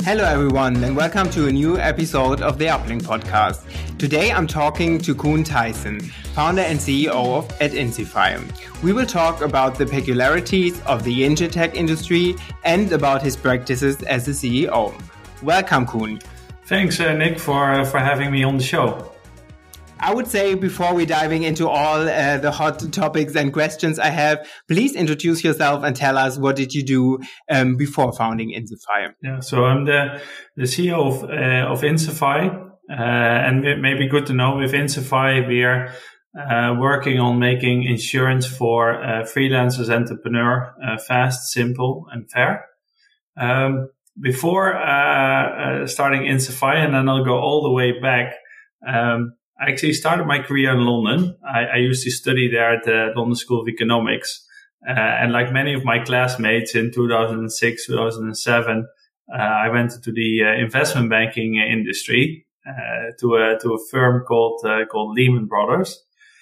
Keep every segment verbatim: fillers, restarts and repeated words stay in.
Hello everyone and welcome to a new episode of the Uplink podcast. Today I'm talking to Koen Thijssen, founder and C E O of, at Insify. We will talk about the peculiarities of the InsurTech industry and about his practices as a C E O. Welcome, Koen. Thanks, uh, Nick, for uh, for having me on the show. I would say before we diving into all uh, the hot topics and questions I have, please introduce yourself and tell us what did you do um, before founding Insify. Yeah, so I'm the, the C E O of, uh, of Insify, uh, and it may be good to know with Insify we are uh, working on making insurance for uh, freelancers, entrepreneur, uh, fast, simple, and fair. Um, before uh, uh, starting Insify, and then I'll go all the way back. Um, I actually started my career in London. I, I used to study there at the London School of Economics. Uh, and like many of my classmates in two thousand six, two thousand seven, uh, I went into the uh, investment banking industry, uh, to a, to a firm called, uh, called Lehman Brothers.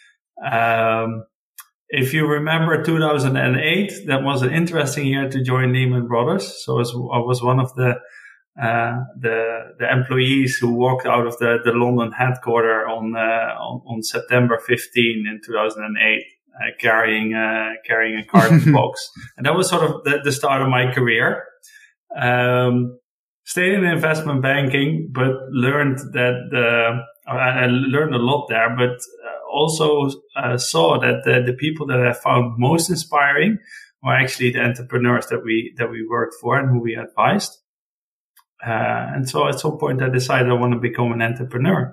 Um, if you remember two thousand eight, that was an interesting year to join Lehman Brothers. So I was, I was one of the Uh, the, the employees who walked out of the, the London headquarters on, uh, on, on September fifteenth in two thousand eight, uh, carrying, uh, carrying a carton box. And that was sort of the, the start of my career. Um, stayed in investment banking, but learned that, uh, I learned a lot there, but also, uh, saw that the, the people that I found most inspiring were actually the entrepreneurs that we, that we worked for and who we advised. Uh, and so at some point I decided I want to become an entrepreneur.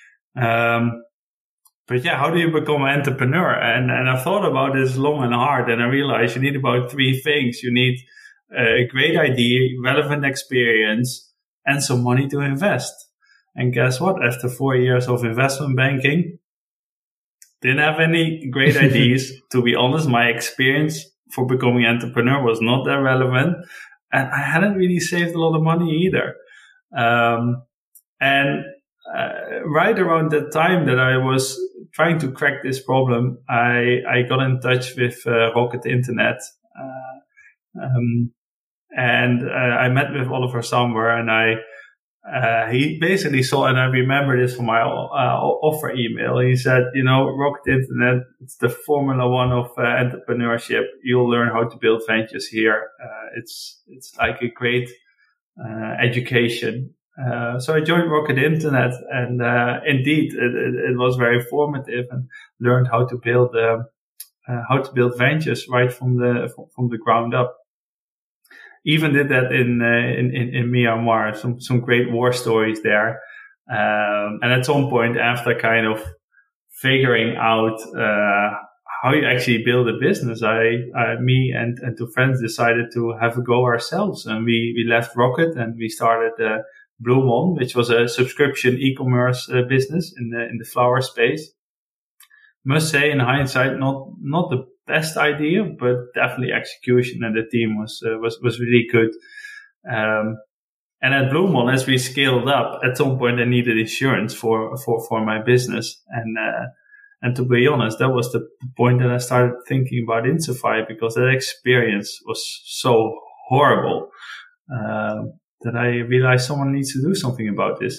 Um, but yeah, how do you become an entrepreneur? And, and I thought about this long and hard, and I realized you need about three things. You need a great idea, relevant experience, and some money to invest. And guess what? After four years of investment banking, didn't have any great ideas. To be honest, my experience for becoming an entrepreneur was not that relevant. And I hadn't really saved a lot of money either. Um, and uh, right around the time that I was trying to crack this problem, I, I got in touch with uh, Rocket Internet. Uh, um, and uh, I met with Oliver Samwer, and I uh, he basically saw, and I remember this from my uh, offer email. He said, you know, Rocket Internet, it's the Formula One of uh, entrepreneurship. You'll learn how to build ventures here. Uh, it's it's like a great uh, education. Uh, so I joined Rocket Internet, and uh, indeed, it, it, it was very formative, and learned how to build uh, uh, how to build ventures right from the from the ground up. Even did that in, uh, in, in, in Myanmar, some, some great war stories there. Um, and at some point after kind of figuring out, uh, how you actually build a business, I, I, me and, and two friends decided to have a go ourselves. And we, we left Rocket and we started, uh, Bloemon, which was a subscription e-commerce uh, business in the, in the flower space. Must say in hindsight, not, not the best idea, but definitely execution, and the team was uh, was was really good. Um, and at Bloemon, as we scaled up, at some point I needed insurance for for for my business, and uh, and to be honest, that was the point that I started thinking about Insify, because that experience was so horrible uh, that I realized someone needs to do something about this.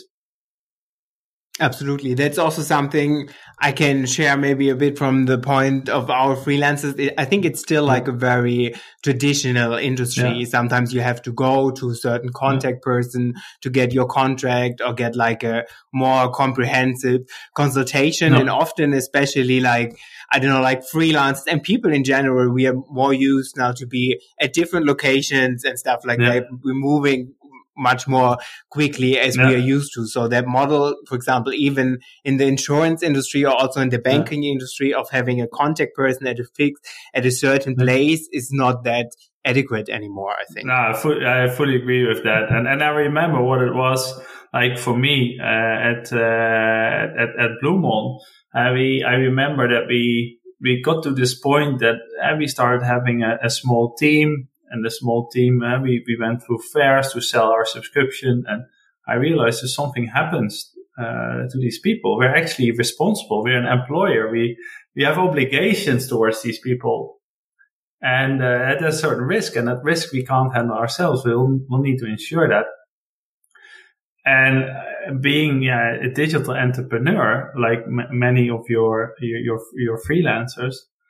Absolutely. That's also something I can share maybe a bit from the point of our freelancers. I think it's still like a very traditional industry. Yeah. Sometimes you have to go to a certain contact yeah. person to get your contract or get like a more comprehensive consultation. No. And often, especially like, I don't know, like freelancers and people in general, we are more used now to be at different locations and stuff like yeah. that. We're moving much more quickly as yeah. we are used to. So that model, for example, even in the insurance industry or also in the banking yeah. industry, of having a contact person at a fixed, at a certain yeah. place is not that adequate anymore, I think. No, I fully, I fully agree with that. And, and I remember what it was like for me, uh, at, uh, at, at Bloemon. Uh, we, I remember that we, we got to this point that uh, we started having a, a small team. And the small team, uh, we, we went through fairs to sell our subscription. And I realized if something happens uh, to these people, we're actually responsible. We're an employer. We we have obligations towards these people. And uh, at a certain risk. And that risk we can't handle ourselves. We'll, we'll need to ensure that. And uh, being yeah, a digital entrepreneur, like m- many of your your your, your freelancers,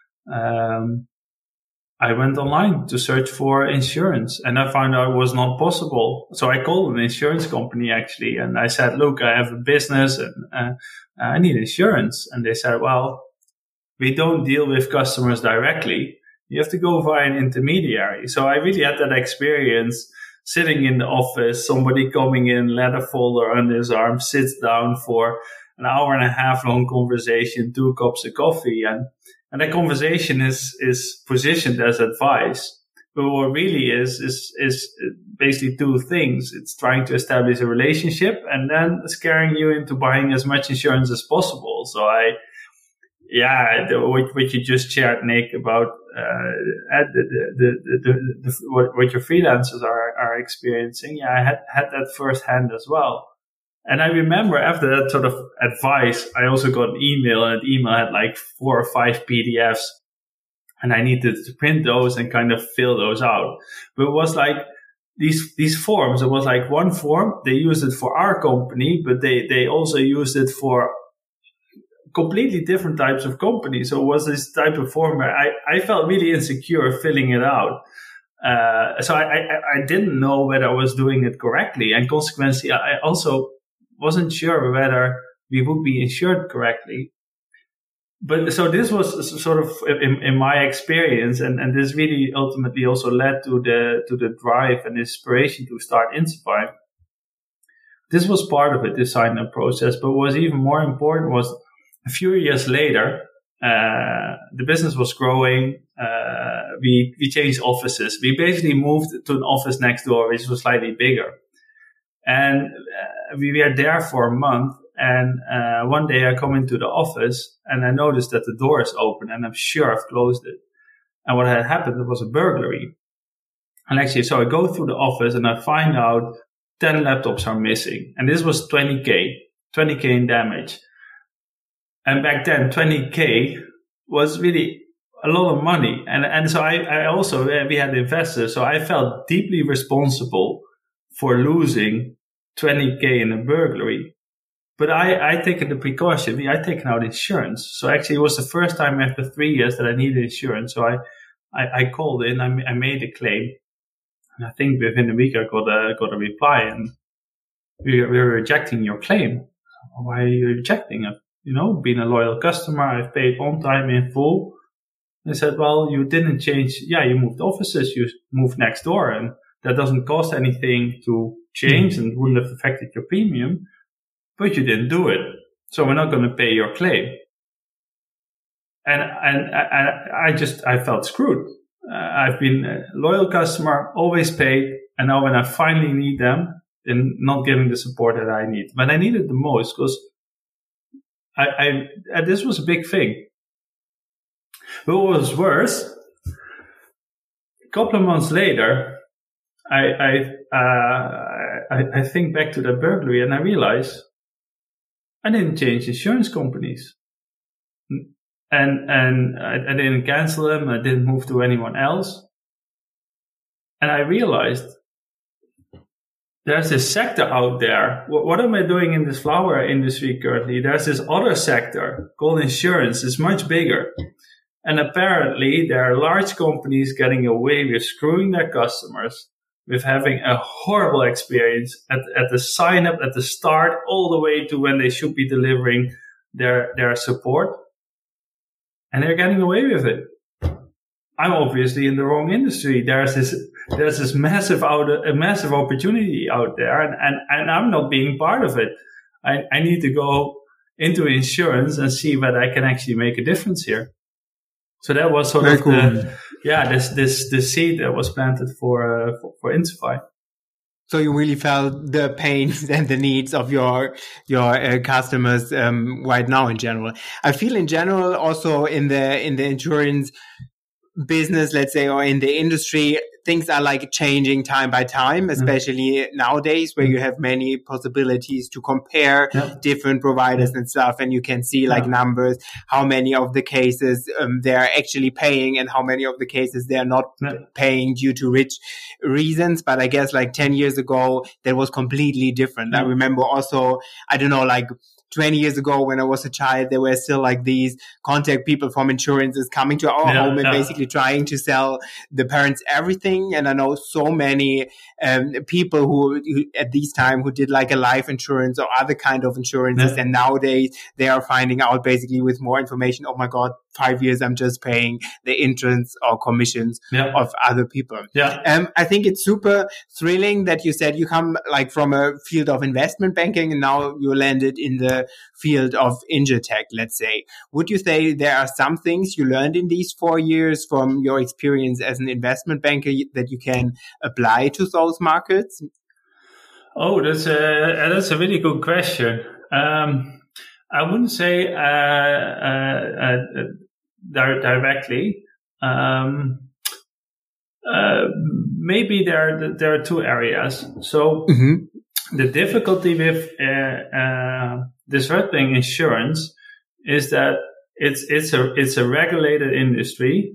um, I went online to search for insurance, and I found out it was not possible. So I called an insurance company actually, and I said, "Look, I have a business, and uh, I need insurance." And they said, "Well, we don't deal with customers directly. You have to go via an intermediary." So I really had that experience. Sitting in the office, somebody coming in, letter folder under his arm, sits down for an hour and a half long conversation, two cups of coffee. And, and that conversation is, is positioned as advice. But what really is, is, is basically two things. It's trying to establish a relationship and then scaring you into buying as much insurance as possible. So I, yeah, the, what, what you just shared, Nick, about uh, the, the, the, the, the, what, what your freelancers are, are experiencing. Yeah, I had, had that firsthand as well. And I remember after that sort of advice, I also got an email, and the email had like four or five P D Fs, and I needed to print those and kind of fill those out. But it was like these, these forms, it was like one form, they used it for our company, but they, they also used it for completely different types of companies. So it was this type of form where I, I felt really insecure filling it out. Uh, so I, I, I didn't know whether I was doing it correctly. And consequently, I also wasn't sure whether we would be insured correctly. But so this was sort of in, in my experience, and, and this really ultimately also led to the, to the drive and inspiration to start Insify. This was part of it, this sign-up process, but what was even more important was a few years later, uh, the business was growing. Uh, we, we changed offices. We basically moved to an office next door, which was slightly bigger. And uh, we were there for a month. And uh, one day I come into the office and I noticed that the door is open, and I'm sure I've closed it. And what had happened was a burglary. And actually, so I go through the office and I find out ten laptops are missing. And this was twenty K, twenty K in damage. And back then, twenty K was really a lot of money. And, and so I, I also, we had investors. So I felt deeply responsible for losing twenty K in a burglary. But I, I taken the precaution. I taken out insurance. So actually it was the first time after three years that I needed insurance. So I, I, I called in, I, I made a claim. And I think within a week I got a, got a reply, and we, we were rejecting your claim. Why are you rejecting it? You know, being a loyal customer, I've paid on time in full. They said, well, you didn't change. Yeah, you moved offices, you moved next door, and that doesn't cost anything to change mm-hmm. and wouldn't have affected your premium, but you didn't do it. So we're not going to pay your claim. And, and I, I just, I felt screwed. Uh, I've been a loyal customer, always paid. And now when I finally need them, they're not giving the support that I need. But I need it the most because I, I, and this was a big thing. But what was worse, a couple of months later, I, I, uh, I, I think back to the burglary and I realized I didn't change insurance companies. And, and I, I didn't cancel them. I didn't move to anyone else. And I realized there's this sector out there. What, what am I doing in this flower industry currently? There's this other sector called insurance. It's much bigger. And apparently there are large companies getting away with screwing their customers, with having a horrible experience at, at the sign up, at the start, all the way to when they should be delivering their, their support. And they're getting away with it. I'm obviously in the wrong industry. There's this, there's this massive out, a massive opportunity out there, and, and, and I'm not being part of it. I, I need to go into insurance and see whether I can actually make a difference here. So that was sort Very of cool. the, yeah, this, this, the seed that was planted for, uh, for, for Insify. So you really felt the pains and the needs of your your uh, customers um, right now in general. I feel in general also in the in the insurance business, let's say, or in the industry, things are like changing time by time, especially mm-hmm. nowadays where you have many possibilities to compare yeah. different providers yeah. and stuff. And you can see like yeah. numbers, how many of the cases um, they're actually paying and how many of the cases they're not yeah. paying due to rich reasons. But I guess like ten years ago, that was completely different. Yeah. I remember also, I don't know, like twenty years ago when I was a child, there were still like these contact people from insurances coming to our yeah, home and yeah. basically trying to sell the parents everything. And I know so many um, people who, who at this time who did like a life insurance or other kind of insurances. Yeah. And nowadays they are finding out basically with more information, oh my God, five years I'm just paying the interest or commissions yeah. of other people. Yeah. Um, I think it's super thrilling that you said you come like from a field of investment banking and now you landed in the field of InsurTech, let's say. Would you say there are some things you learned in these four years from your experience as an investment banker that you can apply to those markets? Oh, that's a, that's a really good question. Um, I wouldn't say uh, uh, uh, directly. Um, uh, maybe there there are two areas. So mm-hmm. the difficulty with uh, uh, disrupting insurance is that it's it's a it's a regulated industry,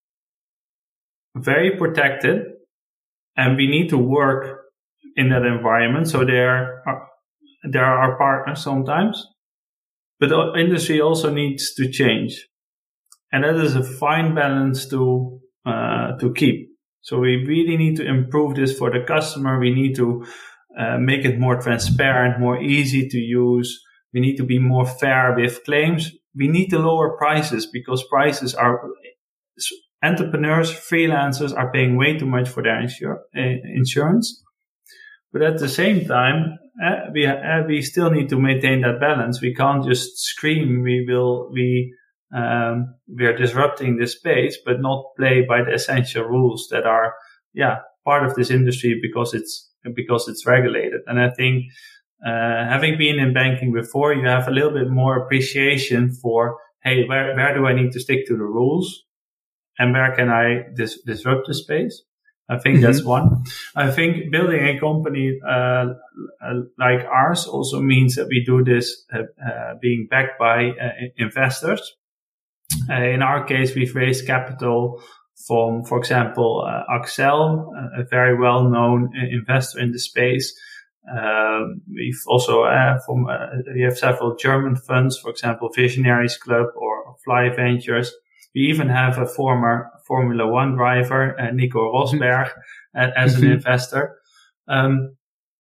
very protected, and we need to work in that environment. So there are there are our partners sometimes, but the industry also needs to change. And that is a fine balance to uh, to keep. So we really need to improve this for the customer. We need to uh, make it more transparent, more easy to use. We need to be more fair with claims. We need to lower prices because prices are entrepreneurs, freelancers are paying way too much for their insur- uh, insurance. But at the same time, uh, we uh, we still need to maintain that balance. We can't just scream. We will we. Um, we are disrupting this space, but not play by the essential rules that are, yeah, part of this industry because it's, because it's regulated. And I think, uh, having been in banking before, you have a little bit more appreciation for, hey, where, where do I need to stick to the rules? And where can I dis- disrupt the space? I think mm-hmm. that's one. I think building a company, uh, uh, like ours also means that we do this, uh, uh being backed by uh, investors. Uh, in our case, we've raised capital from, for example, uh, Axel, uh, a very well-known uh, investor in the space. Uh, we've also, uh, from, uh, we have several German funds, for example, Visionaries Club or Fly Ventures. We even have a former Formula One driver, uh, Nico Rosberg, uh, as an investor. Um,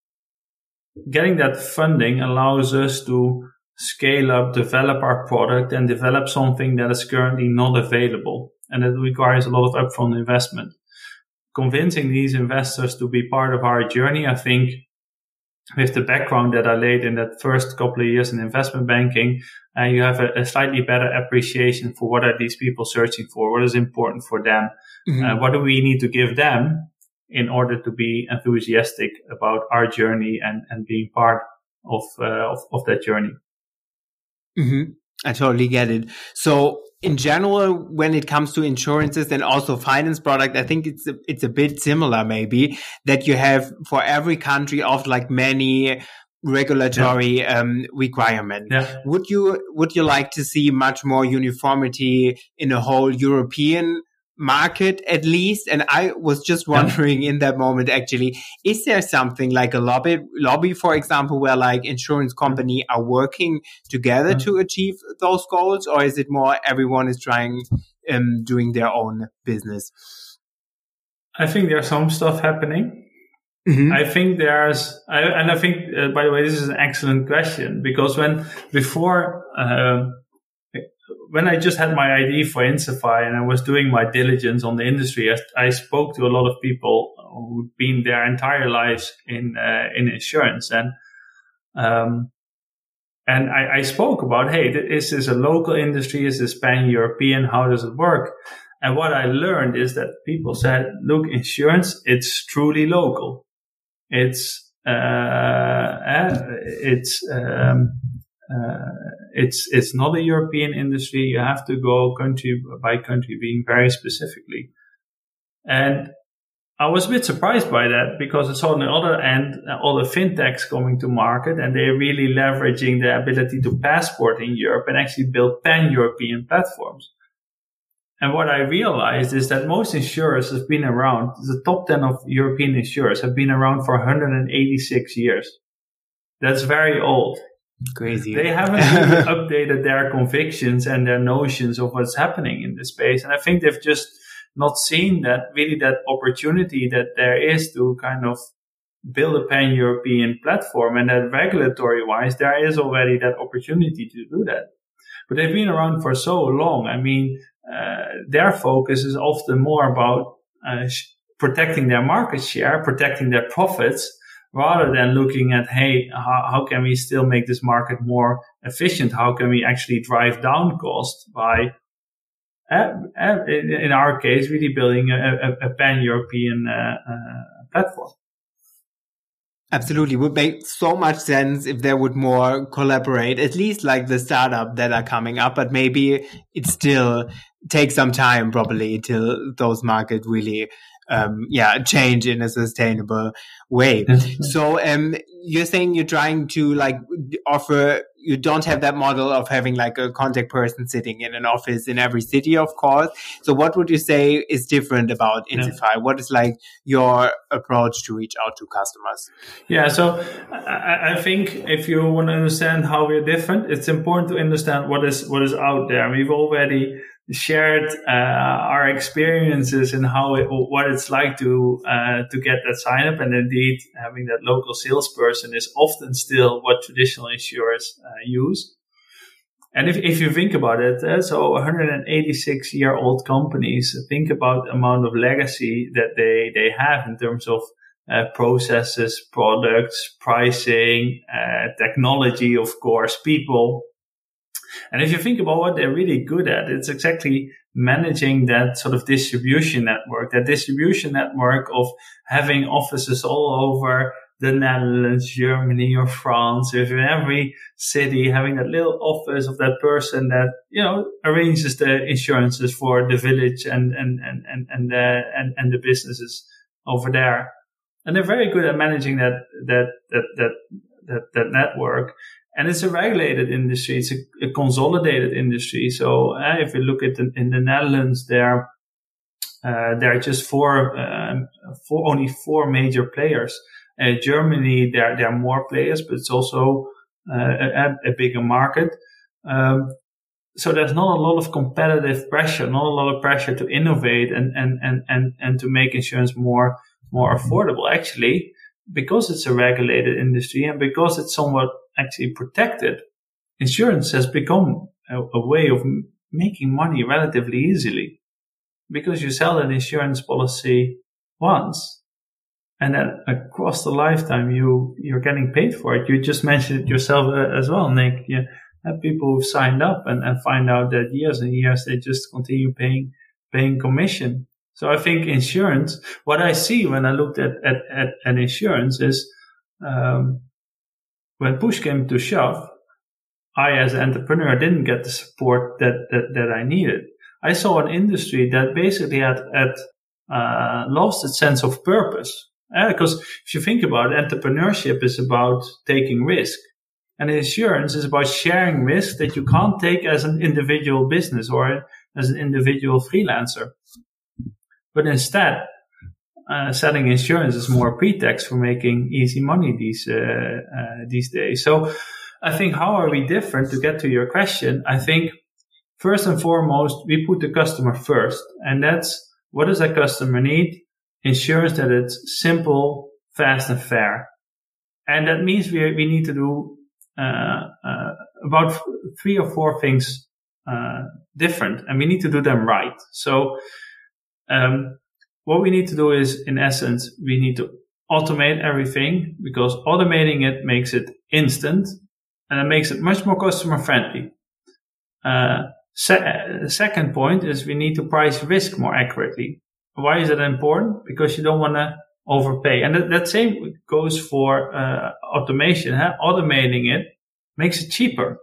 getting that funding allows us to scale up, develop our product, and develop something that is currently not available. And it requires a lot of upfront investment. Convincing these investors to be part of our journey, I think, with the background that I laid in that first couple of years in investment banking, uh, you have a, a slightly better appreciation for what are these people searching for, what is important for them, mm-hmm. uh, what do we need to give them in order to be enthusiastic about our journey and, and being part of, uh, of, of that journey. Mm-hmm. I totally get it. So in general, when it comes to insurances and also finance product, I think it's a, it's a bit similar maybe that you have for every country of like many regulatory yeah. um, requirements. Yeah. Would you, would you like to see much more uniformity in a whole European market at least? And I was just wondering yeah. in that moment, actually, is there something like a lobby, lobby, for example, where like insurance company are working together yeah. to achieve those goals? Or is it more everyone is trying, um, doing their own business? I think there's some stuff happening. Mm-hmm. I think there's, I, and I think, uh, by the way, this is an excellent question because when before, uh, when I just had my I D for Insify and I was doing my diligence on the industry, I, I spoke to a lot of people who'd been their entire lives in uh, in insurance, and um, and I, I spoke about, hey, is this a local industry? Is this pan-European? How does it work? And what I learned is that people said, look, insurance, it's truly local. It's uh, it's um, uh, it's it's not a European industry. You have to go country by country, being very specifically. And I was a bit surprised by that, because it's on the other end, all the fintechs coming to market, and they're really leveraging the ability to passport in Europe and actually build pan-European platforms. And what I realized is that most insurers have been around, the top ten of European insurers have been around for one hundred eighty-six years. That's very old. Crazy. They haven't really updated their convictions and their notions of what's happening in this space. And I think they've just not seen that really that opportunity that there is to kind of build a pan-European platform, and that regulatory wise, there is already that opportunity to do that. But they've been around for so long. I mean, uh, their focus is often more about uh, sh- protecting their market share, protecting their profits, rather than looking at, hey, how, how can we still make this market more efficient? How can we actually drive down costs by, uh, uh, in, in our case, really building a, a, a pan-European uh, uh, platform? Absolutely. Would make so much sense if they would more collaborate, at least like the startup that are coming up, but maybe it still takes some time probably till those markets really um yeah change in a sustainable way. So um you're saying you're trying to like offer, you don't have that model of having like a contact person sitting in an office in every city, of course. So what would you say is different about Insify? Yeah. What is like your approach to reach out to customers? Yeah, so I, I think if you want to understand how we're different, it's important to understand what is what is out there. We've already shared uh, our experiences and how it, what it's like to uh, to get that sign up, and indeed having that local salesperson is often still what traditional insurers uh, use. And if if you think about it, uh, so one hundred eighty-six year old companies, think about the amount of legacy that they they have in terms of uh, processes, products, pricing, uh, technology, of course, people. And if you think about what they're really good at, it's exactly managing that sort of distribution network, that distribution network of having offices all over the Netherlands, Germany, or France, if in every city, having that little office of that person that, you know, arranges the insurances for the village and, and, and, and, and, the, and, and the businesses over there. And they're very good at managing that, that, that, that, that, that network. And it's a regulated industry. It's a, a consolidated industry. So uh, if you look at the, in the Netherlands, there, uh, there are just four, uh, four, only four major players. Uh, Germany, there, there are more players, but it's also uh, a, a bigger market. Um, so there's not a lot of competitive pressure, not a lot of pressure to innovate and, and, and, and, and to make insurance more, more affordable. Actually, because it's a regulated industry and because it's somewhat actually protected, insurance has become a, a way of m- making money relatively easily, because you sell an insurance policy once and then across the lifetime you you're getting paid for it. You just mentioned it yourself uh, as well, Nick. You have people who've signed up and, and find out that years and years they just continue paying paying commission. So I think insurance, what I see when I looked at at, at, at insurance is um when push came to shove, I, as an entrepreneur, didn't get the support that, that, that I needed. I saw an industry that basically had, had uh, lost its sense of purpose. Uh, because if you think about it, entrepreneurship is about taking risk. And insurance is about sharing risk that you can't take as an individual business or as an individual freelancer. But instead, Uh, selling insurance is more a pretext for making easy money these uh, uh, these days. So I think, how are we different? To get to your question, I think first and foremost, we put the customer first. And that's, what does that customer need? Insurance that it's simple, fast, and fair. And that means we we need to do uh, uh, about three or four things uh, different, and we need to do them right. So um what we need to do is, in essence, we need to automate everything, because automating it makes it instant and it makes it much more customer friendly. Uh, se- second point is we need to price risk more accurately. Why is that important? Because you don't want to overpay. And that, that same goes for uh, automation. Huh? Automating it makes it cheaper.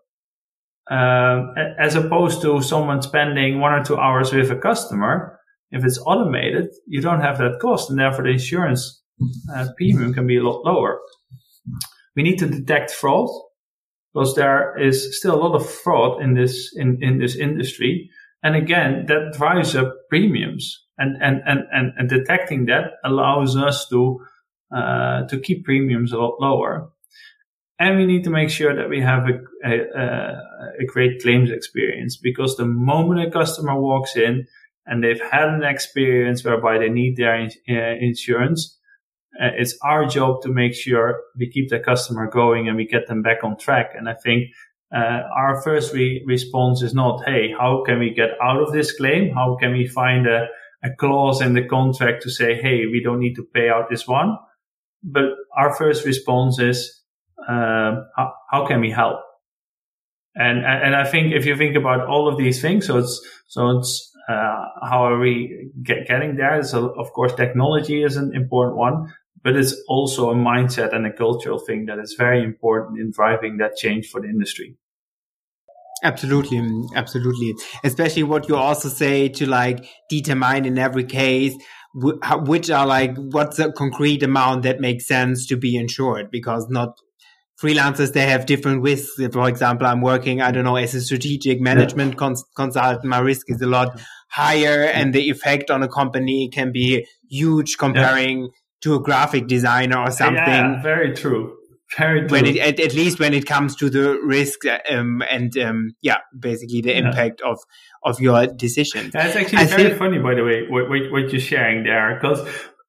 Um, as opposed to someone spending one or two hours with a customer. If it's automated, you don't have that cost, and therefore the insurance uh, premium can be a lot lower. We need to detect fraud, because there is still a lot of fraud in this in, in this industry, and again, that drives up premiums. And and and and, and detecting that allows us to uh, to keep premiums a lot lower. And we need to make sure that we have a, a, a great claims experience, because the moment a customer walks in and they've had an experience whereby they need their in, uh, insurance, uh, it's our job to make sure we keep the customer going and we get them back on track. And I think uh, our first re- response is not, hey, how can we get out of this claim? How can we find a, a clause in the contract to say, hey, we don't need to pay out this one? But our first response is, Uh, how, how can we help? And and I think if you think about all of these things, so it's so it's uh, how are we get, getting there? So of course, technology is an important one, but it's also a mindset and a cultural thing that is very important in driving that change for the industry. Absolutely, absolutely. Especially what you also say to like determine in every case which are like what's a concrete amount that makes sense to be insured, because not freelancers, they have different risks. For example, I'm working, I don't know, as a strategic management yeah. cons- consultant. My risk is a lot higher, and the effect on a company can be huge comparing yeah. to a graphic designer or something. Yeah, very true. Very true. When it, at, at least when it comes to the risk um, and um, yeah, basically the yeah. impact of of your decision. That's actually I very think- funny, by the way, what, what, what you're sharing there. Because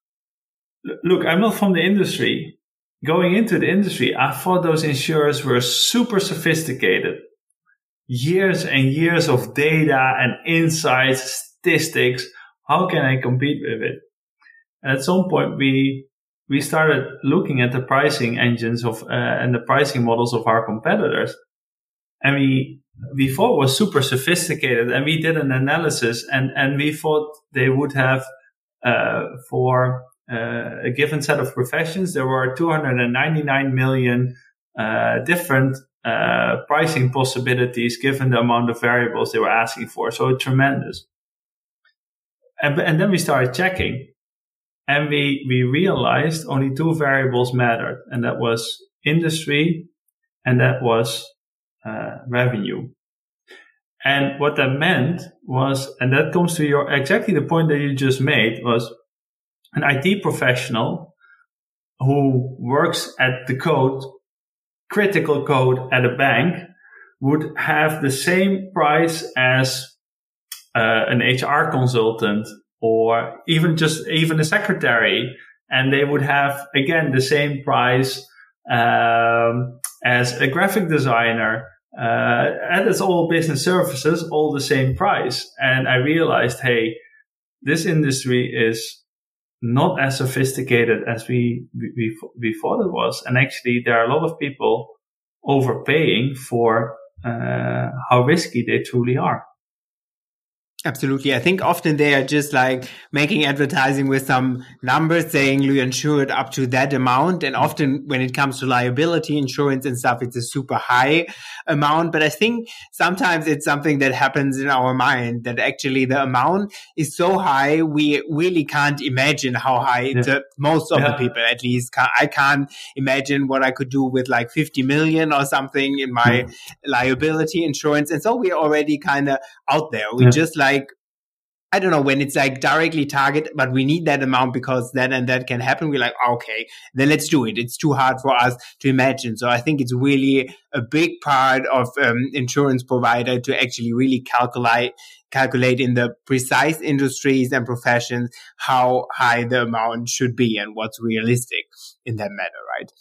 look, I'm not from the industry. Going into the industry, I thought those insurers were super sophisticated. Years and years of data and insights, statistics. How can I compete with it? And at some point, we we started looking at the pricing engines of uh, and the pricing models of our competitors, and we we thought it was super sophisticated. And we did an analysis, and and we thought they would have uh, for Uh, a given set of professions, there were two hundred ninety-nine million uh, different uh, pricing possibilities given the amount of variables they were asking for. So tremendous. And, and then we started checking, and we, we realized only two variables mattered, and that was industry and that was uh, revenue. And what that meant was, and that comes to your exactly the point that you just made, was an I T professional who works at the code, critical code at a bank, would have the same price as uh, an H R consultant or even just even a secretary. And they would have, again, the same price um, as a graphic designer. Uh, and it's all business services, all the same price. And I realized, hey, this industry is not as sophisticated as we, we we thought it was, and actually there are a lot of people overpaying for uh, how risky they truly are. Absolutely. I think often they are just like making advertising with some numbers saying you insure it up to that amount. And often when it comes to liability insurance and stuff, it's a super high amount. But I think sometimes it's something that happens in our mind that actually the amount is so high, we really can't imagine how high yeah. the, most of yeah. the people at least can, I can't imagine what I could do with like fifty million or something in my yeah. liability insurance. And so we're already kind of out there. We yeah. just like, I don't know, when it's like directly target, but we need that amount because that and that can happen. We're like, okay, then let's do it. It's too hard for us to imagine. So I think it's really a big part of um, insurance provider to actually really calculate, calculate in the precise industries and professions how high the amount should be and what's realistic in that matter, right?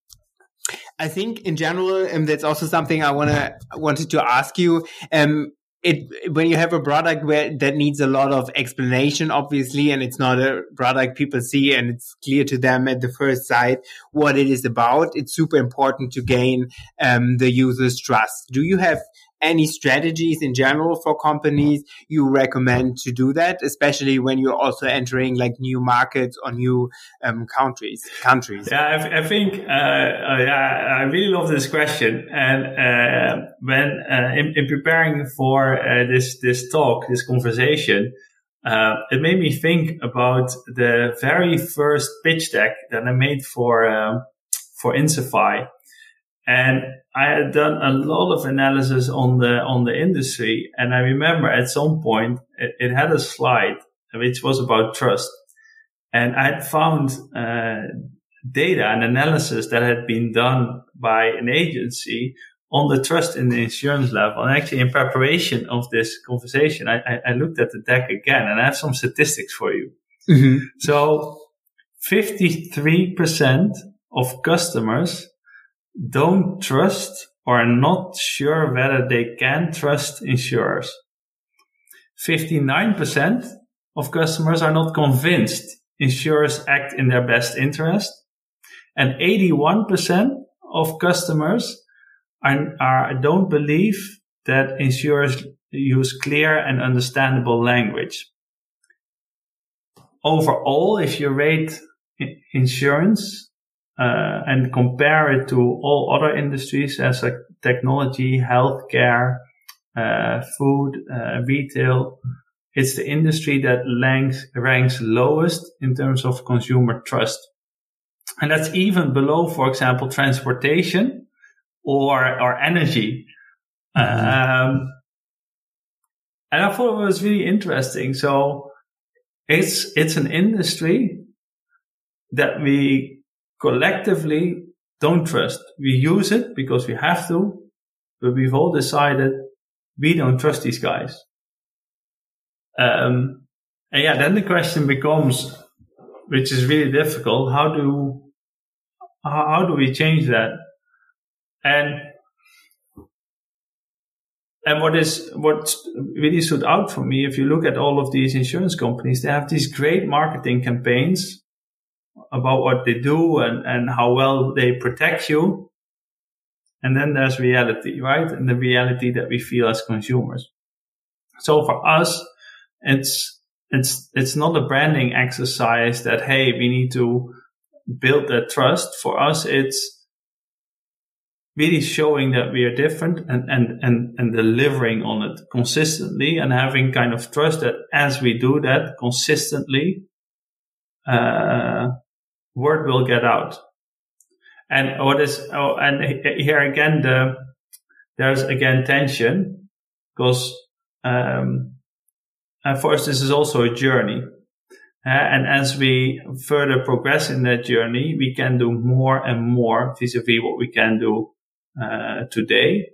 I think in general, and that's also something I wanna wanted to ask you. Um, It, when you have a product where that needs a lot of explanation, obviously, and it's not a product people see and it's clear to them at the first sight what it is about, it's super important to gain um, the user's trust. Do you have any strategies in general for companies you recommend to do that, especially when you're also entering like new markets or new um, countries? Countries. Yeah, I, I think uh, I, I really love this question, and uh, when uh, in, in preparing for uh, this this talk, this conversation, uh, it made me think about the very first pitch deck that I made for uh, for Insify, and I had done a lot of analysis on the on the industry, and I remember at some point it, it had a slide which was about trust, and I had found uh, data and analysis that had been done by an agency on the trust in the insurance level. And actually, in preparation of this conversation, I, I, I looked at the deck again, and I have some statistics for you. Mm-hmm. So fifty-three percent of customers don't trust or are not sure whether they can trust insurers. fifty-nine percent of customers are not convinced insurers act in their best interest. And eighty-one percent of customers are, are don't believe that insurers use clear and understandable language. Overall, if you rate insurance uh, and compare it to all other industries as like technology, healthcare, uh, food, uh, retail, it's the industry that ranks, ranks lowest in terms of consumer trust. And that's even below, for example, transportation or, or energy. Mm-hmm. Um, and I thought it was really interesting. So it's, it's an industry that we collectively don't trust. We use it because we have to, but we've all decided we don't trust these guys. Um, and yeah, then the question becomes, which is really difficult, how do, how, how do we change that? And, and what is, what really stood out for me, if you look at all of these insurance companies, they have these great marketing campaigns about what they do and, and how well they protect you. And then there's reality, right? And the reality that we feel as consumers. So for us, it's, it's, it's not a branding exercise that, hey, we need to build that trust. For us, it's really showing that we are different and, and, and, and delivering on it consistently and having kind of trust that as we do that consistently, uh, word will get out. And what is, oh, and here again, the, there's again tension because, um, and for us, this is also a journey. Uh, and as we further progress in that journey, we can do more and more vis-a-vis what we can do uh, today.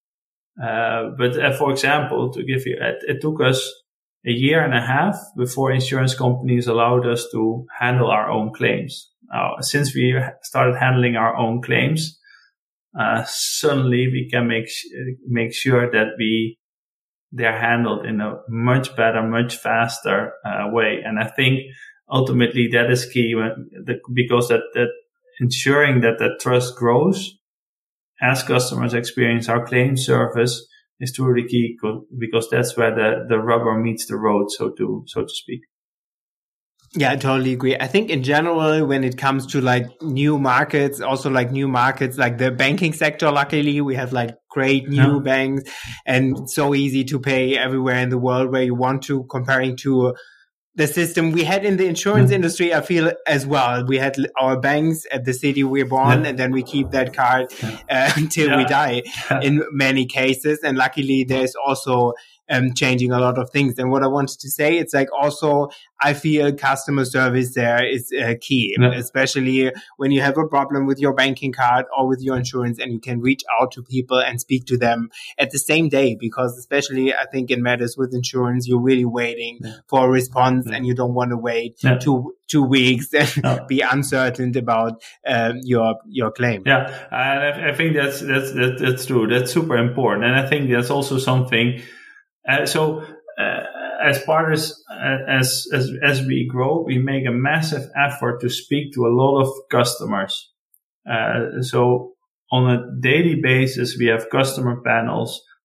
Uh, but uh, for example, to give you, it, it took us a year and a half before insurance companies allowed us to handle our own claims. Now, since we started handling our own claims, uh, suddenly we can make make sure that we they're handled in a much better, much faster uh, way. And I think ultimately that is key when, the, because that, that ensuring that that trust grows as customers experience our claim service is truly key because that's where the, the rubber meets the road, so to, so to speak. Yeah, I totally agree. I think in general, when it comes to like new markets, also like new markets, like the banking sector, luckily we have like great new yeah. banks and so easy to pay everywhere in the world where you want to, comparing to the system we had in the insurance mm. industry. I feel as well. We had our banks at the city we're born yeah. and then we keep that card yeah. uh, until yeah. we die yeah. in many cases. And luckily there's also um, changing a lot of things. And what I wanted to say, it's like also, I feel customer service there is uh, key, yeah. especially when you have a problem with your banking card or with your insurance and you can reach out to people and speak to them at the same day, because especially I think it matters with insurance, you're really waiting yeah. for a response yeah. and you don't want to wait yeah. two, two weeks and yeah. be uncertain about um, your, your claim. Yeah. I, I think that's, that's, that's, that's true. That's super important. And I think that's also something, uh, so, uh, as partners, as, as, as we grow, we make a massive effort to speak to a lot of customers. Uh, so on a daily basis, we have customer panels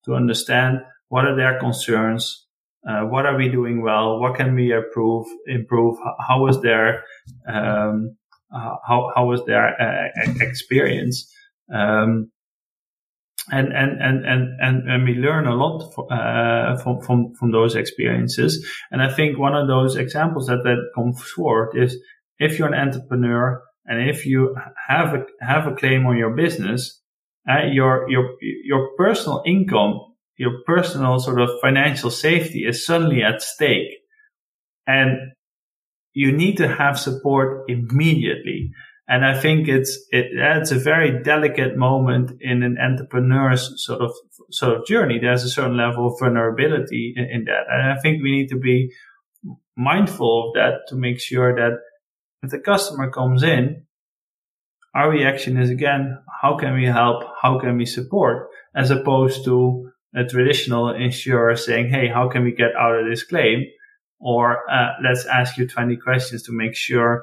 to understand what are their concerns, uh, what are we doing well, what can we improve, improve, how was their, um, how, how was their uh, experience. Um, And, and, and, and, and, and we learn a lot uh, from, from, from those experiences. And I think one of those examples that, that comes forward is if you're an entrepreneur and if you have a, have a claim on your business, uh, your, your, your personal income, your personal sort of financial safety is suddenly at stake. And you need to have support immediately. And I think it's, it, it's a very delicate moment in an entrepreneur's sort of, sort of journey. There's a certain level of vulnerability in, in that. And I think we need to be mindful of that to make sure that if the customer comes in, our reaction is again, how can we help? How can we support? As opposed to a traditional insurer saying, hey, how can we get out of this claim? Or, uh, let's ask you twenty questions to make sure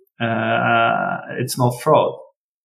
Uh, it's not fraud.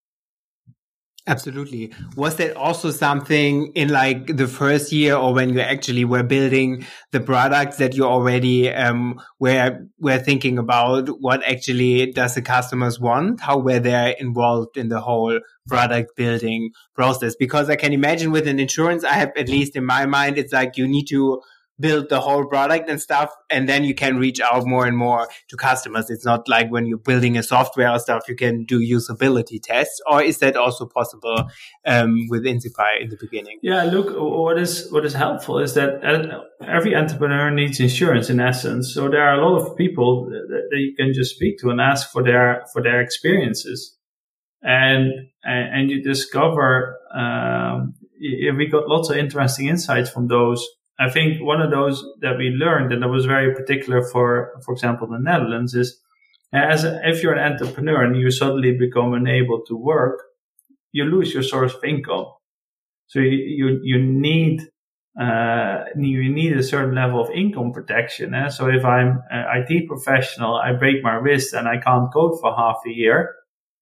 Absolutely. Was that also something in like the first year or when you actually were building the products that you already um, were, were thinking about what actually does the customers want? How were they involved in the whole product building process? Because I can imagine with an insurance, I have at least in my mind, it's like you need to build the whole product and stuff, and then you can reach out more and more to customers. It's not like when you're building a software or stuff, you can do usability tests. Or is that also possible um, with Insify in the beginning? Yeah, look, what is what is helpful is that every entrepreneur needs insurance in essence. So there are a lot of people that, that you can just speak to and ask for their for their experiences, and and you discover um, we got lots of interesting insights from those. I think one of those that we learned, and that was very particular for, for example, the Netherlands, is as a, if you're an entrepreneur and you suddenly become unable to work, you lose your source of income. So you you, you need uh, you need a certain level of income protection. Eh? So if I'm an I T professional, I break my wrist and I can't code for half a year.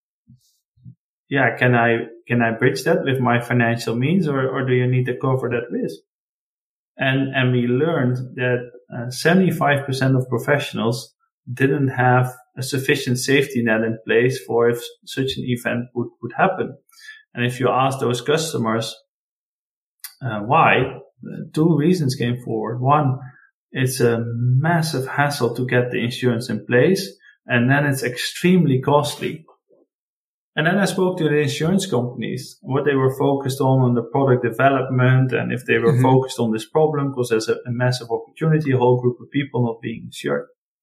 Yeah, can I can I bridge that with my financial means, or or do you need to cover that risk? And, and we learned that uh, seventy-five percent of professionals didn't have a sufficient safety net in place for if such an event would, would happen. And if you ask those customers, uh, why, two reasons came forward. One, it's a massive hassle to get the insurance in place. And then it's extremely costly. And then I spoke to the insurance companies, what they were focused on, on the product development, and if they were mm-hmm. focused on this problem, because there's a, a massive opportunity, a whole group of people not being insured.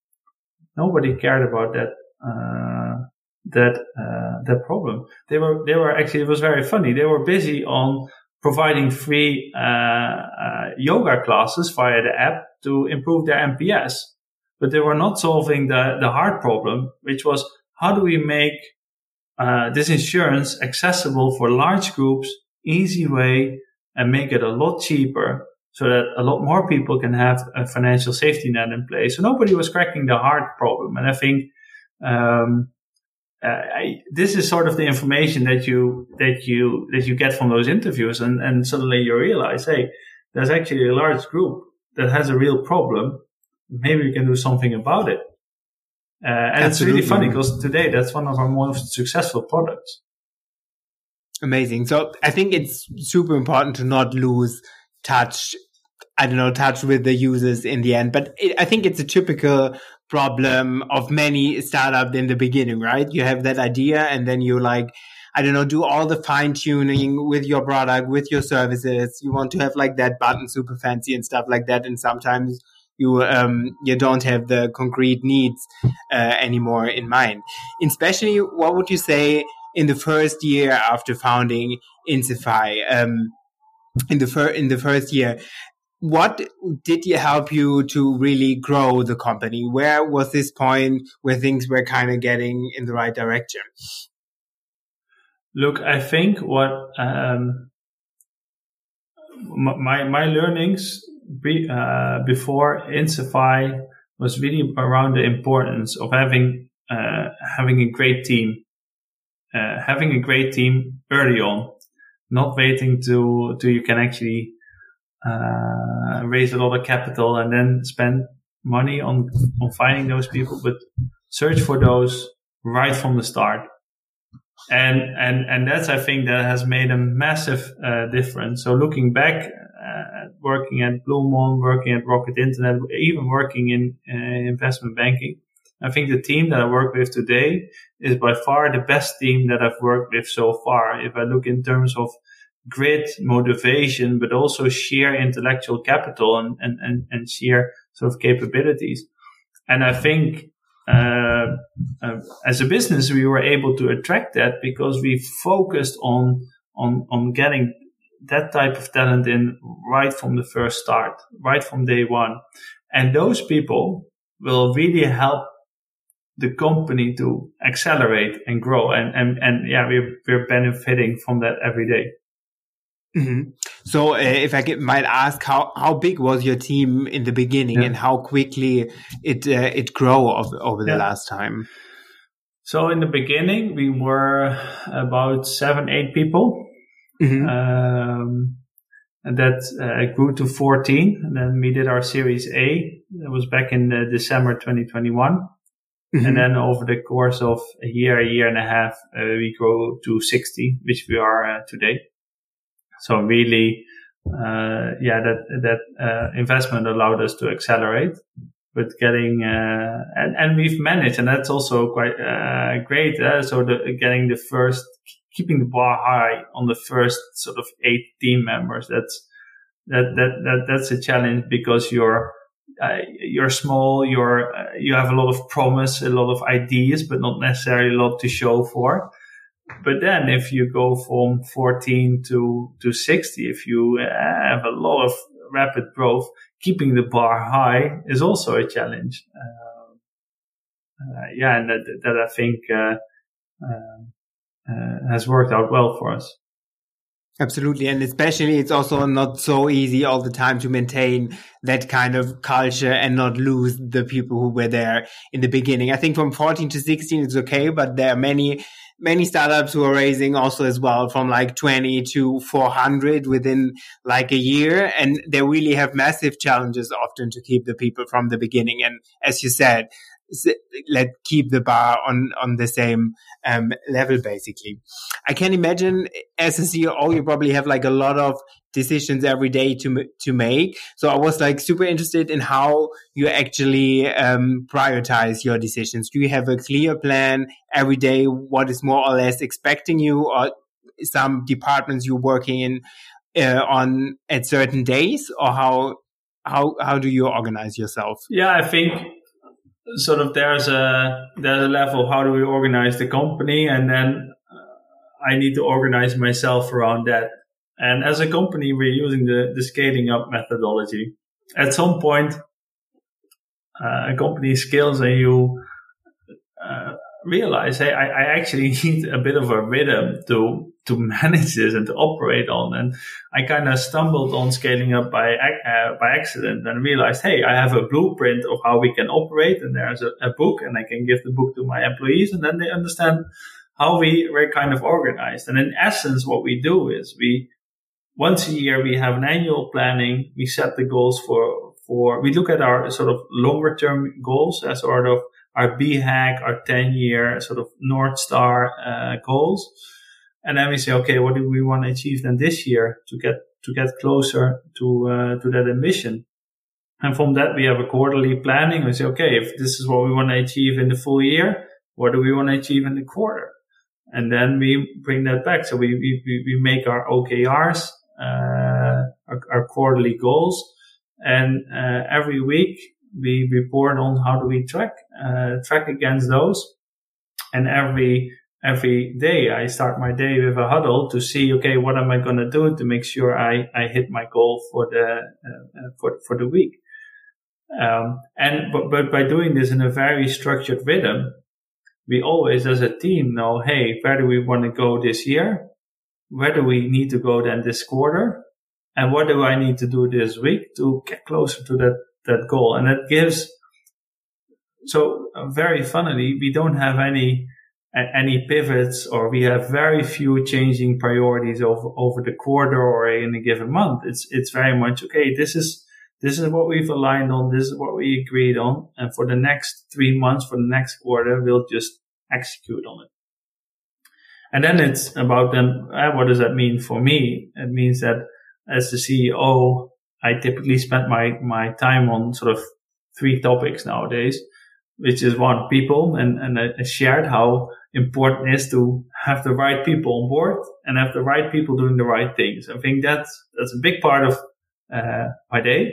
Nobody cared about that, uh, that, uh, that problem. They were, they were actually, it was very funny. They were busy on providing free, uh, uh, yoga classes via the app to improve their N P S. But they were not solving the, the hard problem, which was how do we make Uh, this insurance accessible for large groups, easy way, and make it a lot cheaper so that a lot more people can have a financial safety net in place. So nobody was cracking the hard problem. And I think, um, uh, I, this is sort of the information that you, that you, that you get from those interviews. And, and suddenly you realize, hey, there's actually a large group that has a real problem. Maybe we can do something about it. Uh, and Absolutely. It's really funny because today that's one of our most successful products. Amazing. So I think it's super important to not lose touch, I don't know, touch with the users in the end. But it, I think it's a typical problem of many startups in the beginning, right? You have that idea and then you like, I don't know, do all the fine tuning with your product, with your services. You want to have like that button super fancy and stuff like that. And sometimes you um you don't have the concrete needs uh, anymore in mind. Especially, what would you say in the first year after founding Insify? Um, in the fir- in the first year, what did you help you to really grow the company? Where was this point where things were kind of getting in the right direction? Look, I think what um, my my learnings. Be, uh, before Insify was really around the importance of having uh, having a great team, uh, having a great team early on, not waiting to to you can actually uh, raise a lot of capital and then spend money on, on finding those people, but search for those right from the start. And, and, and that's, I think, that has made a massive, uh, difference. So looking back, uh, working at Bloemon, working at Rocket Internet, even working in uh, investment banking, I think the team that I work with today is by far the best team that I've worked with so far. If I look in terms of grit, motivation, but also sheer intellectual capital and, and, and, and sheer sort of capabilities. And I think, uh, uh, as a business, we were able to attract that because we focused on, on, on getting that type of talent in right from the first start, right from day one. And those people will really help the company to accelerate and grow. And, and, and yeah, we're, we're benefiting from that every day. Mm-hmm. So uh, if I get, might ask, how, how big was your team in the beginning, yeah. and how quickly it, uh, it grew over, over the yeah. last time? So in the beginning, we were about seven, eight people. Mm-hmm. Um, and that uh, grew to fourteen. And then we did our Series A. That was back in uh, December twenty twenty-one. Mm-hmm. And then over the course of a year, a year and a half, uh, we grew to sixty, which we are uh, today. So really, uh, yeah, that, that, uh, investment allowed us to accelerate with getting, uh, and, and we've managed, and that's also quite, uh, great. Uh, so the, getting the first, keeping the bar high on the first sort of eight team members. That's, that, that, that, that's a challenge because you're, uh, you're small, you're, uh, you have a lot of promise, a lot of ideas, but not necessarily a lot to show for. But then if you go from fourteen to, to sixty, if you have a lot of rapid growth, keeping the bar high is also a challenge. Uh, uh, yeah, and that, that I think, uh, uh, uh, has worked out well for us. Absolutely. And especially it's also not so easy all the time to maintain that kind of culture and not lose the people who were there in the beginning. I think from fourteen to sixteen, it's okay, but there are many Many startups who are raising also as well from like twenty to four hundred within like a year. And they really have massive challenges often to keep the people from the beginning. And as you said, let keep the bar on, on the same um, level, basically. I can imagine as a C E O, you probably have like a lot of decisions every day to to make. So I was like super interested in how you actually um, prioritize your decisions. Do you have a clear plan every day? What is more or less expecting you, or some departments you're working in uh, on at certain days, or how how how do you organize yourself? Yeah, I think sort of there's a there's a level of how do we organize the company, and then uh, I need to organize myself around that. And as a company, we're using the, the scaling up methodology. At some point, uh, a company scales and you uh, realize, hey, I, I actually need a bit of a rhythm to to manage this and to operate on. And I kind of stumbled on scaling up by uh, by accident and realized, hey, I have a blueprint of how we can operate, and there's a, a book, and I can give the book to my employees, and then they understand how we we're kind of organized. And in essence, what we do is we once a year we have an annual planning. We set the goals for for we look at our sort of longer term goals as sort of our B HAG, our ten year sort of North Star uh, goals. And then we say, okay, what do we want to achieve then this year to get to get closer to uh, to that ambition? And from that, we have a quarterly planning. We say, okay, if this is what we want to achieve in the full year, what do we want to achieve in the quarter? And then we bring that back. So we we we make our O K Rs, uh, our, our quarterly goals, and uh, every week we report on how do we track uh, track against those. And every Every day I start my day with a huddle to see, okay, what am I going to do to make sure I, I hit my goal for the, uh, for, for the week. Um, and, but, but by doing this in a very structured rhythm, we always as a team know, hey, where do we want to go this year? Where do we need to go then this quarter? And what do I need to do this week to get closer to that, that goal? And that gives, so uh, very funnily, we don't have any any pivots, or we have very few changing priorities over, over the quarter or in a given month. It's, it's very much, okay, this is, this is what we've aligned on. This is what we agreed on. And for the next three months, for the next quarter, we'll just execute on it. And then it's about then, uh, what does that mean for me? It means that as the C E O, I typically spend my, my time on sort of three topics nowadays, which is one, people, and, and I shared how important it is to have the right people on board and have the right people doing the right things. I think that's, that's a big part of, uh, my day.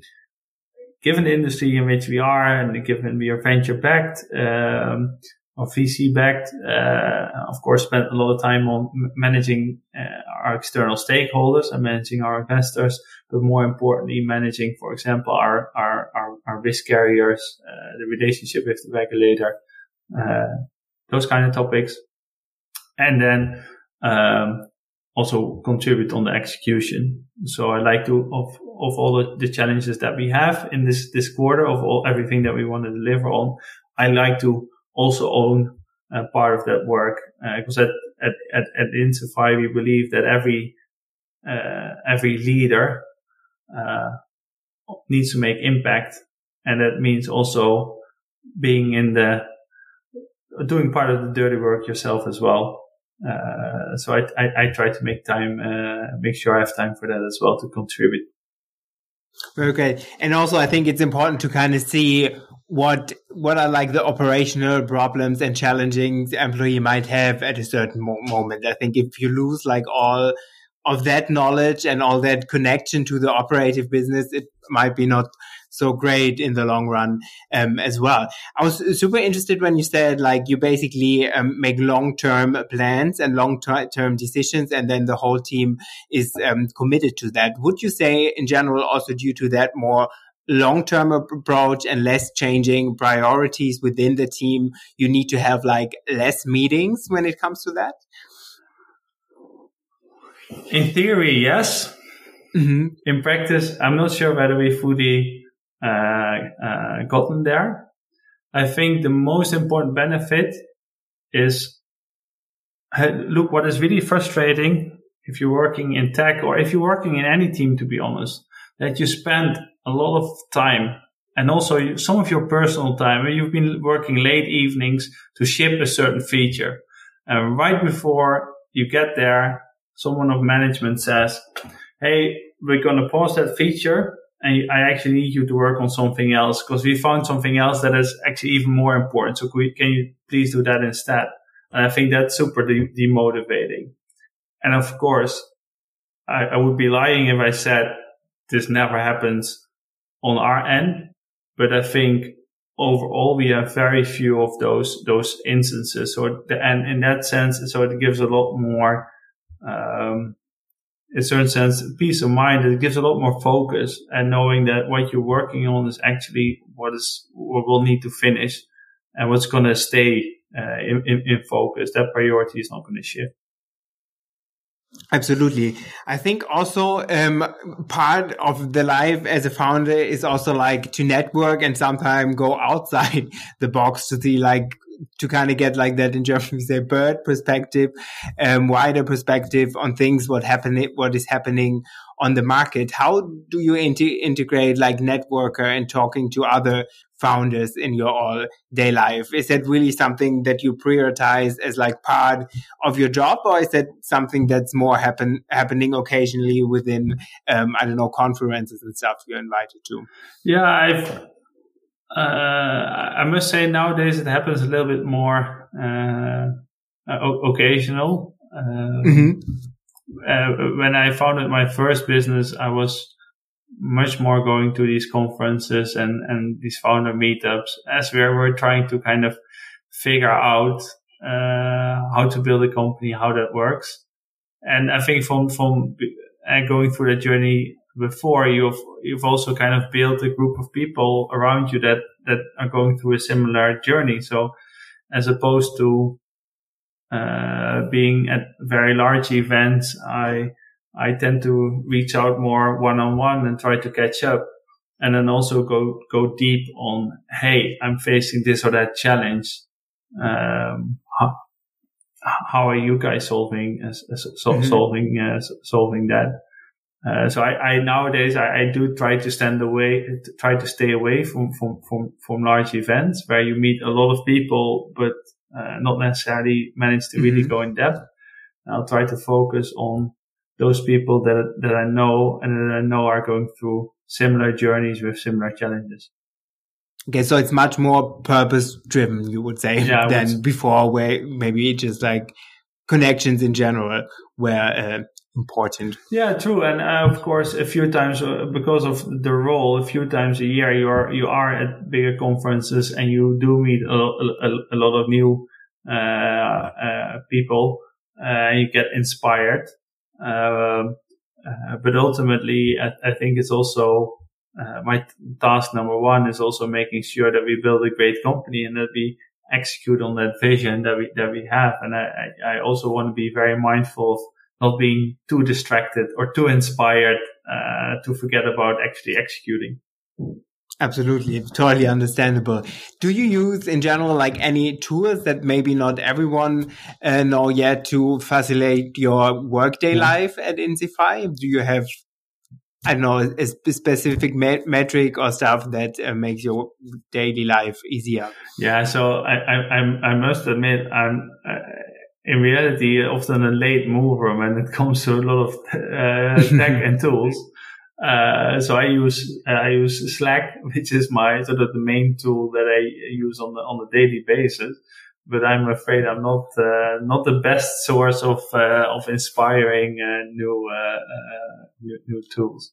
Given the industry in which we are, and given we are venture backed, um, or V C backed, uh, of course, spent a lot of time on managing uh, our external stakeholders and managing our investors, but more importantly, managing, for example, our, our, our, our risk carriers, uh, the relationship with the regulator, uh, those kind of topics. And then, um, also contribute on the execution. So I like to, of, of all the, the challenges that we have in this, this quarter, of all, everything that we want to deliver on, I like to also own uh, part of that work, because uh, at, at, at, at Insify, we believe that every, uh, every leader, uh, needs to make impact. And that means also being in the, doing part of the dirty work yourself as well. Uh, so I, I, I try to make time, uh, make sure I have time for that as well to contribute. Very great. And also I think it's important to kind of see what, what are like the operational problems and challenging the employee might have at a certain mo- moment. I think if you lose like all of that knowledge and all that connection to the operative business, it might be not so great in the long run, um, as well. I was super interested when you said like you basically um, make long-term plans and long-term decisions, and then the whole team is um, committed to that. Would you say in general also due to that more long-term approach and less changing priorities within the team, you need to have like less meetings when it comes to that? In theory, yes. Mm-hmm. In practice, I'm not sure whether we fully uh, uh, gotten there. I think the most important benefit is, look, what is really frustrating if you're working in tech or if you're working in any team, to be honest, that you spend a lot of time and also some of your personal time where you've been working late evenings to ship a certain feature. And right before you get there, someone of management says, hey, we're going to pause that feature and I actually need you to work on something else because we found something else that is actually even more important. So can, we, can you please do that instead? And I think that's super de- demotivating. And of course, I, I would be lying if I said this never happens on our end. But I think overall, we have very few of those, those instances. So, the, and in that sense, so it gives a lot more, um, in a certain sense, peace of mind. It gives a lot more focus and knowing that what you're working on is actually what is, what we'll need to finish and what's going to stay, uh, in, in, in focus. That priority is not going to shift. Absolutely. I think also um part of the life as a founder is also like to network and sometimes go outside the box to see like to kind of get like that in German we say bird perspective, um wider perspective on things what happening what is happening on the market. How do you inter- integrate like networker and talking to other founders in your all day life? Is that really something that you prioritize as like part of your job, or is that something that's more happen happening occasionally within um I don't know conferences and stuff you're invited to? Yeah, I've uh I must say nowadays it happens a little bit more uh o- occasional. Um, mm-hmm. Uh, when I founded my first business, I was much more going to these conferences and, and these founder meetups as we were trying to kind of figure out, uh, how to build a company, how that works. And I think from, from uh, going through that journey before, you've, you've also kind of built a group of people around you that, that are going through a similar journey. So as opposed to, uh, being at very large events, I, I tend to reach out more one-on-one and try to catch up and then also go, go deep on, hey, I'm facing this or that challenge. Um, how, how are you guys solving uh, so, mm-hmm. solving uh, solving that? Uh, so I, I nowadays I, I do try to stand away, try to stay away from from from, from large events where you meet a lot of people, but uh, not necessarily manage to really mm-hmm. go in depth. I'll try to focus on those people that that I know and that I know are going through similar journeys with similar challenges. Okay, so it's much more purpose-driven, you would say, yeah, than would... before, where maybe just like connections in general were uh, important. Yeah, true. And uh, of course, a few times uh, because of the role, a few times a year you are you are at bigger conferences and you do meet a, a, a lot of new uh, uh, people. Uh, you get inspired, uh, uh, but ultimately, I, I think it's also uh, my t- task number one is also making sure that we build a great company and that we execute on that vision that we that we have. And I, I also want to be very mindful of not being too distracted or too inspired uh, to forget about actually executing. Absolutely. Totally understandable. Do you use in general like any tools that maybe not everyone uh, know yet to facilitate your workday yeah. life at Insify? Do you have, I don't know, a specific me- metric or stuff that uh, makes your daily life easier? Yeah. So I, I, I must admit, I'm uh, in reality often a late mover when it comes to a lot of uh, tech and tools. Uh, so I use, uh, I use Slack, which is my sort of the main tool that I use on the, on a daily basis. But I'm afraid I'm not, uh, not the best source of, uh, of inspiring, uh, new, uh, uh, new, new tools.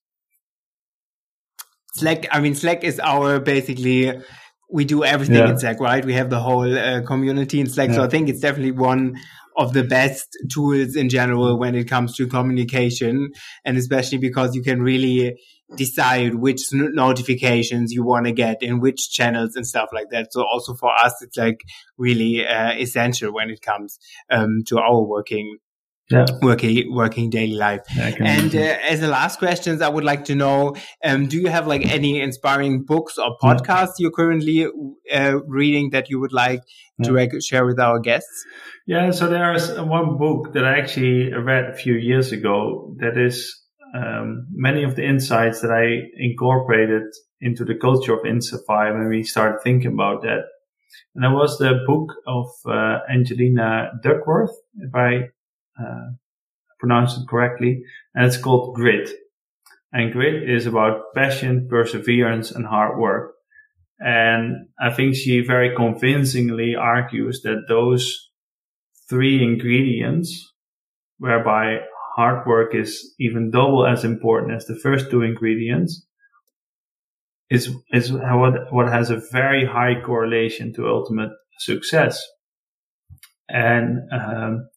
Slack, I mean, Slack is our basically, we do everything yeah. in Slack, right? We have the whole uh, community in Slack. Yeah. So I think it's definitely one of the best tools in general when it comes to communication, and especially because you can really decide which notifications you want to get in which channels and stuff like that. So also for us, it's like really uh, essential when it comes um, to our working yeah. working working daily life. Yeah, and uh, as a last questions, I would like to know, um, do you have like any inspiring books or podcasts yeah. you're currently uh, reading that you would like yeah. to rec- share with our guests? Yeah, so there's one book that I actually read a few years ago that is um, many of the insights that I incorporated into the culture of Insify when we started thinking about that. And that was the book of uh, Angelina Duckworth, if I uh, pronounce it correctly, and it's called Grit. And Grit is about passion, perseverance, and hard work. And I think she very convincingly argues that those three ingredients, whereby hard work is even double as important as the first two ingredients, is is what what has a very high correlation to ultimate success. And um,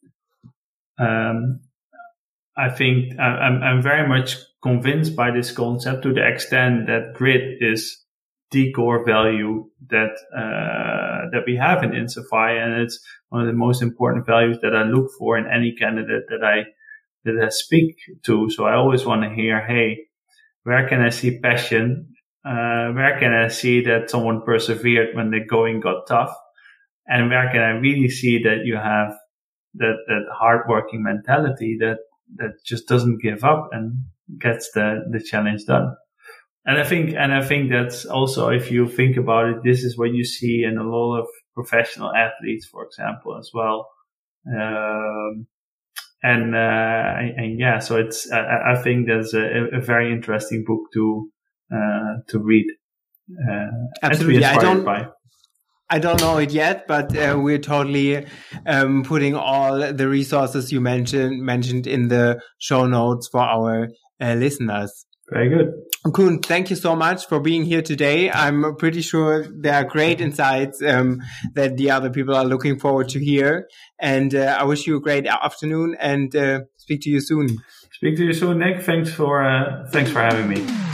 um, I think I'm I'm very much convinced by this concept to the extent that grit is the core value that uh, that we have in Insify, and it's one of the most important values that I look for in any candidate that I that I speak to. So I always want to hear, hey, where can I see passion? Uh, where can I see that someone persevered when the going got tough? And where can I really see that you have that that hardworking mentality that that just doesn't give up and gets the the challenge done? And I think, and I think that's also, if you think about it, this is what you see in a lot of professional athletes, for example, as well. Um, and, uh, and, and yeah, so it's, I, I think that's a, a very interesting book to, uh, to read, uh, Absolutely. and to be inspired I don't, by. I don't know it yet, but uh, we're totally um, putting all the resources you mentioned, mentioned in the show notes for our uh, listeners. Very good. Koen, thank you so much for being here today. I'm pretty sure there are great insights um, that the other people are looking forward to hear. And uh, I wish you a great afternoon and uh, speak to you soon. Speak to you soon, Nick. Thanks for uh, thanks for having me.